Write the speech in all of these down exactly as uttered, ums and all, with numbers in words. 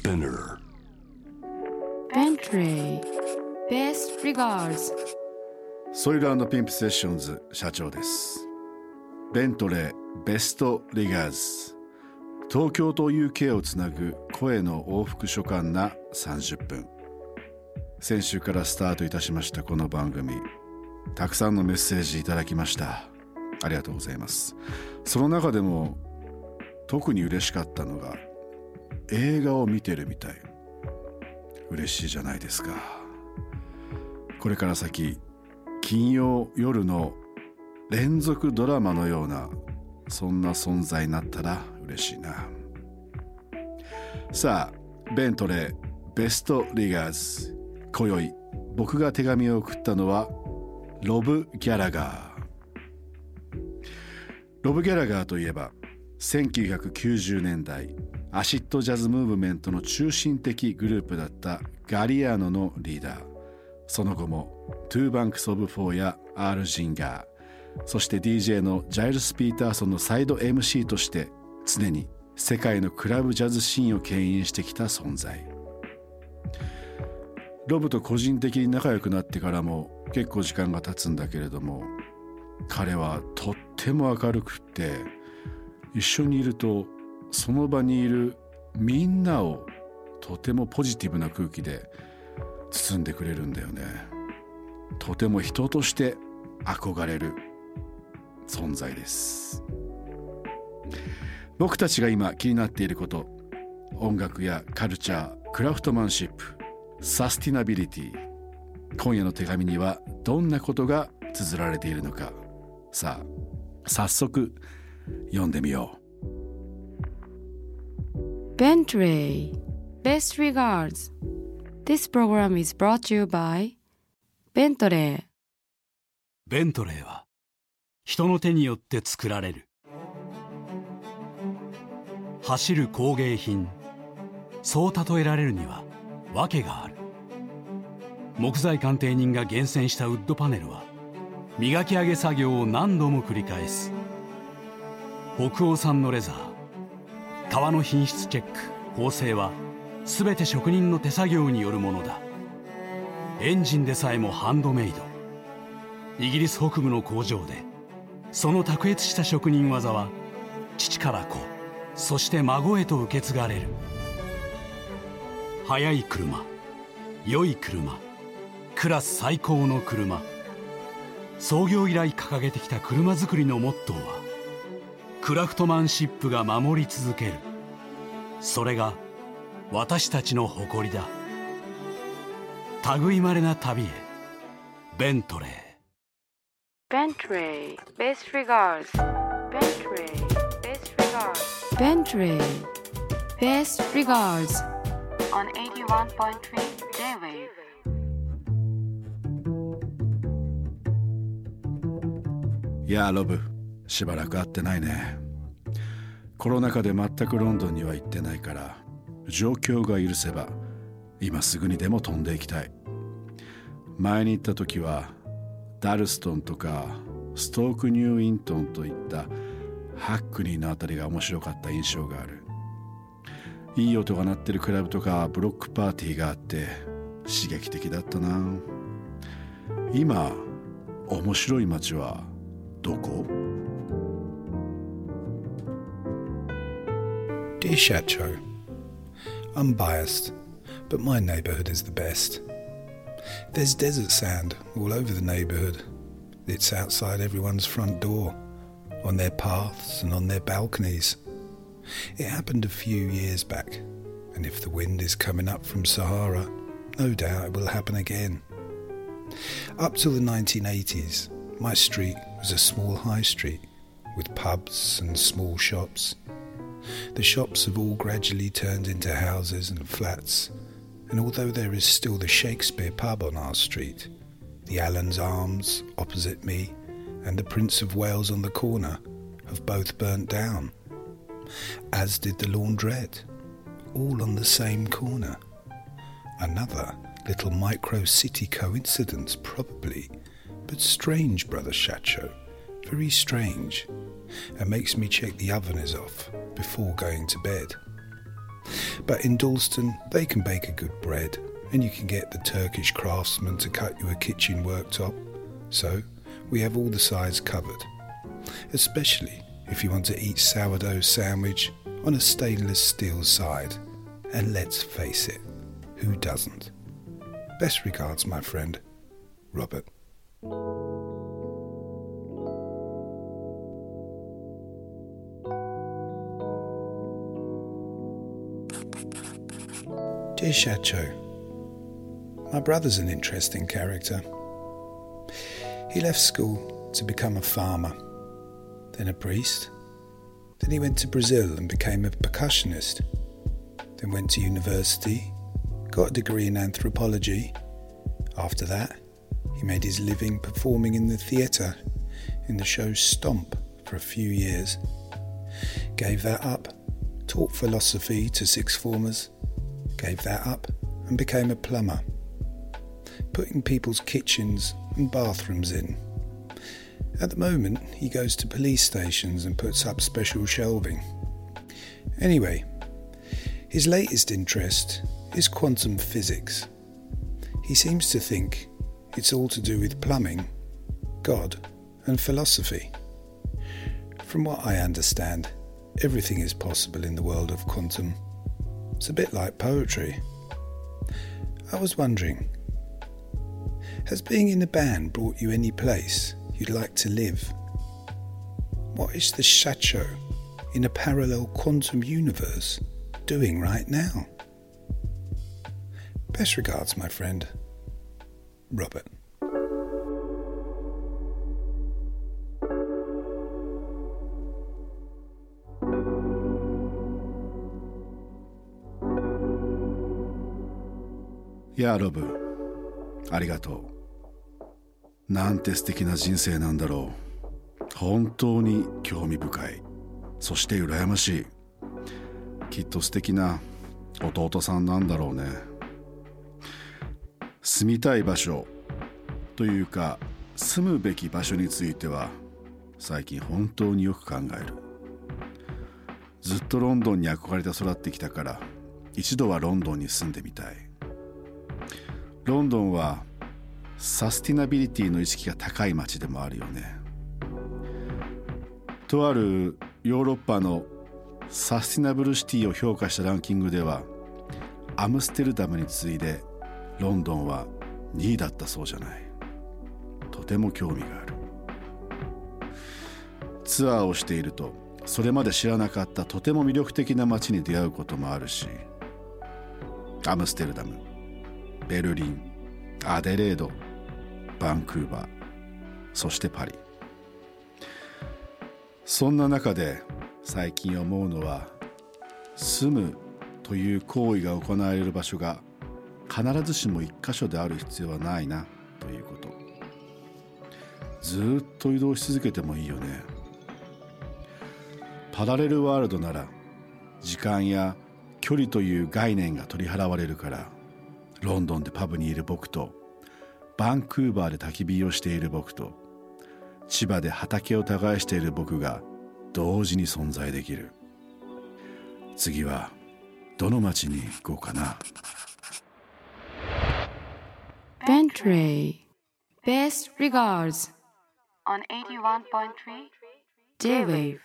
Spinner Bentley Best Regards ソイル&ピンプセッションズ社長です。ベントレーベストリガーズ、東京と ユーケー をつなぐ声の往復書簡なさんじゅっぷん。先週からスタートいたしましたこの番組、たくさんのメッセージいただきました。ありがとうございます。その中でも特に嬉しかったのが映画を見てるみたい。嬉しいじゃないですか。これから先金曜夜の連続ドラマのようなそんな存在になったら嬉しいな。さあ、ベントレーベストリガーズ、今宵僕が手紙を送ったのはロブ・ギャラガー。ロブ・ギャラガーといえばせんきゅうひゃくきゅうじゅうねんだいアシッドジャズムーブメントの中心的グループだったガリアーノのリーダー。その後もトゥーバンクス・オブ・フォーやアール・ジンガー、そして ディージェー のジャイルス・ピーターソンのサイド エムシー として常に世界のクラブジャズシーンを牽引してきた存在。ロブと個人的に仲良くなってからも結構時間が経つんだけれども、彼はとっても明るくって一緒にいるとその場にいるみんなをとてもポジティブな空気で包んでくれるんだよね。とても人として憧れる存在です。僕たちが今気になっていること、音楽やカルチャー、クラフトマンシップ、サスティナビリティ。今夜の手紙にはどんなことが綴られているのか。さあ、早速読んでみよう。 Bentley Best Regards. This program is brought to you by Bentley. ベントレーは人の手によって作られる。走る工芸品、そう例えられるには訳がある。木材鑑定人が厳選したウッドパネルは磨き上げ作業を何度も繰り返す。北欧産のレザー、革の品質チェック、縫製は全て職人の手作業によるものだ。エンジンでさえもハンドメイド。イギリス北部の工場でその卓越した職人技は父から子、そして孫へと受け継がれる。速い車、良い車、クラス最高の車。創業以来掲げてきた車作りのモットーはクラフトマンシップが守り続ける。それが私たちの誇りだ。類まれな旅へ、ベントレー。 Bentley Best Regards. Bentley Best Regards. Bentley Best Regards on eighty-one point three J-Wave. いやーロブ、しばらく会ってないね。コロナ禍で全くロンドンには行ってないから、状況が許せば今すぐにでも飛んでいきたい。前に行った時はダルストンとかストークニューイントンといったハックニーのあたりが面白かった印象がある。いい音が鳴ってるクラブとかブロックパーティーがあって刺激的だったな。今面白い街はどこ？ Dear Shacho, I'm biased, but my neighbourhood is the best. There's desert sand all over the neighbourhood. It's outside everyone's front door, on their paths and on their balconies. It happened a few years back, and if the wind is coming up from Sahara, no doubt it will happen again. Up till the nineteen eighties, my street was a small high street with pubs and small shops. The shops have all gradually turned into houses and flats, and although there is still the Shakespeare pub on our street, the Allen's Arms opposite me and the Prince of Wales on the corner have both burnt down, as did the Laundrette, all on the same corner. Another little micro-city coincidence probably, but strange, Brother Shacho, very strange, and makes me check the oven is off before going to bed. But in Dalston, they can bake a good bread, and you can get the Turkish craftsman to cut you a kitchen worktop. So we have all the sides covered, especially if you want to eat sourdough sandwich on a stainless steel side. And let's face it, who doesn't? Best regards, my friend, Robert. Dear Shacho, my brother's an interesting character. He left school to become a farmer, then a priest. Then he went to Brazil and became a percussionist. Then went to university, got a degree in anthropology. After that, he made his living performing in the theatre in the show Stomp for a few years. Gave that up, taught philosophy to sixth formers. Gave that up and became a plumber, putting people's kitchens and bathrooms in. At the moment, he goes to police stations and puts up special shelving. Anyway, his latest interest is quantum physics. He seems to think it's all to do with plumbing, God, and philosophy. From what I understand, everything is possible in the world of quantum. It's a bit like poetry. I was wondering, has being in a band brought you any place you'd like to live? What is the Shacho in a parallel quantum universe doing right now? Best regards, my friend, Robert. いやロブ、ありがとう。なんて素敵な人生なんだろう。本当に興味深い。そして羨ましい。きっと素敵な弟さんなんだろうね。住みたい場所というか住むべき場所については最近本当によく考える。ずっとロンドンに憧れて育ってきたから一度はロンドンに住んでみたい。ロンドンはサスティナビリティの意識が高い街でもあるよね。とあるヨーロッパのサスティナブルシティを評価したランキングではアムステルダムに次いでロンドンはにいだったそうじゃない。とても興味がある。ツアーをしているとそれまで知らなかったとても魅力的な街に出会うこともあるし、アムステルダム、ベルリン、アデレード、バンクーバー、そしてパリ。そんな中で最近思うのは、住むという行為が行われる場所が必ずしも一箇所である必要はないなということ。ずっと移動し続けてもいいよね。パラレルワールドなら時間や距離という概念が取り払われるから、ロンドンでパブにいる僕とバンクーバーで焚き火をしている僕と千葉で畑を耕している僕が同時に存在できる。次はどの町に行こうかな。 Bentley Best regards on エイティワンポイントスリー J-Wave。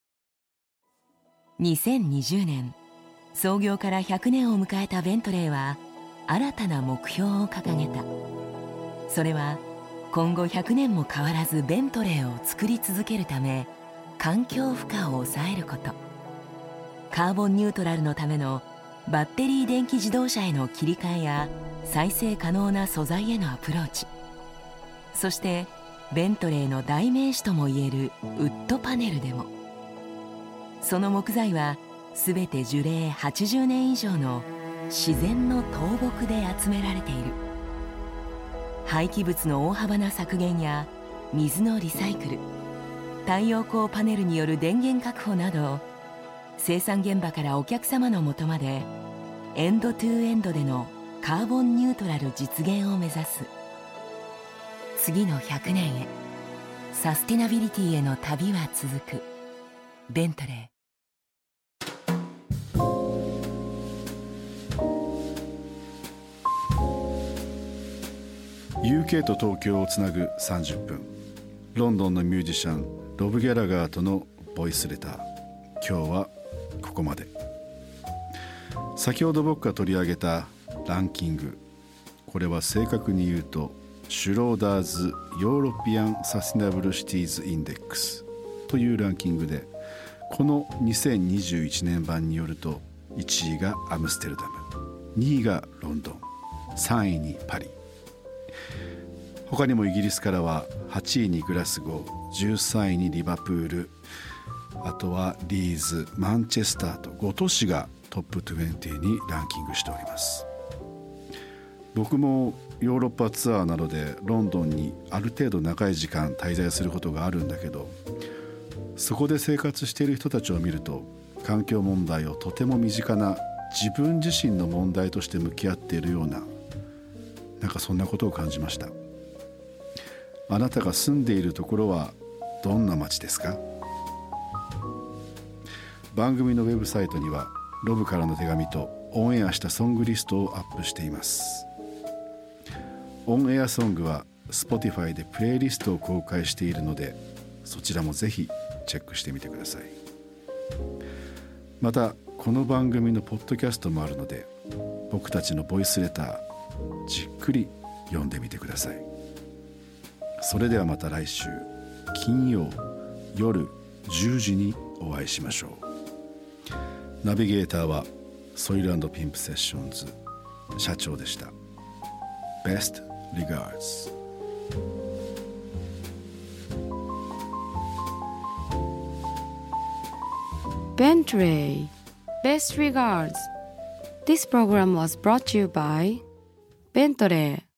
にせんにじゅうねん創業からひゃくねんを迎えたベントレーは新たな目標を掲げた。それは今後ひゃくねんも変わらずベントレーを作り続けるため環境負荷を抑えること、カーボンニュートラルのためのバッテリー電気自動車への切り替えや再生可能な素材へのアプローチ、そしてベントレーの代名詞ともいえるウッドパネルでも、その木材はすべて樹齢はちじゅうねん以上の自然の倒木で集められている。廃棄物の大幅な削減や水のリサイクル、太陽光パネルによる電源確保など、生産現場からお客様のもとまでエンドトゥエンドでのカーボンニュートラル実現を目指す。次のひゃくねんへ、サスティナビリティへの旅は続く。ベントレー。 ユーケー と東京をつなぐさんじゅっぷん、ロンドンのミュージシャンロブ・ギャラガーとのボイスレター、今日はここまで。先ほど僕が取り上げたランキング、これは正確に言うとシュローダーズヨーロピアンサスティナブルシティーズインデックスというランキングで、このにせんにじゅういちねん版によるといちいがアムステルダム、にいがロンドン、さんいにパリ。他にもイギリスからははちいにグラスゴー、じゅうさんいにリバプール、あとはリーズ、マンチェスターとご都市がトップにじゅうにランキングしております。僕もヨーロッパツアーなどでロンドンにある程度長い時間滞在することがあるんだけど、そこで生活している人たちを見ると、環境問題をとても身近な自分自身の問題として向き合っているような、なんかそんなことを感じました。あなたが住んでいるところはどんな街ですか？番組のウェブサイトにはロブからの手紙とオンエアしたソングリストをアップしています。オンエアソングは Spotify でプレイリストを公開しているので、そちらもぜひチェックしてみてください。またこの番組のポッドキャストもあるので、僕たちのボイスレターじっくり読んでみてください。それではまた来週金曜夜じゅうじにお会いしましょう。ナビゲーターはソイル&ピンプセッションズ社長でした。 Best regards。 Bentley, best regards. This program was brought to you by Bentley.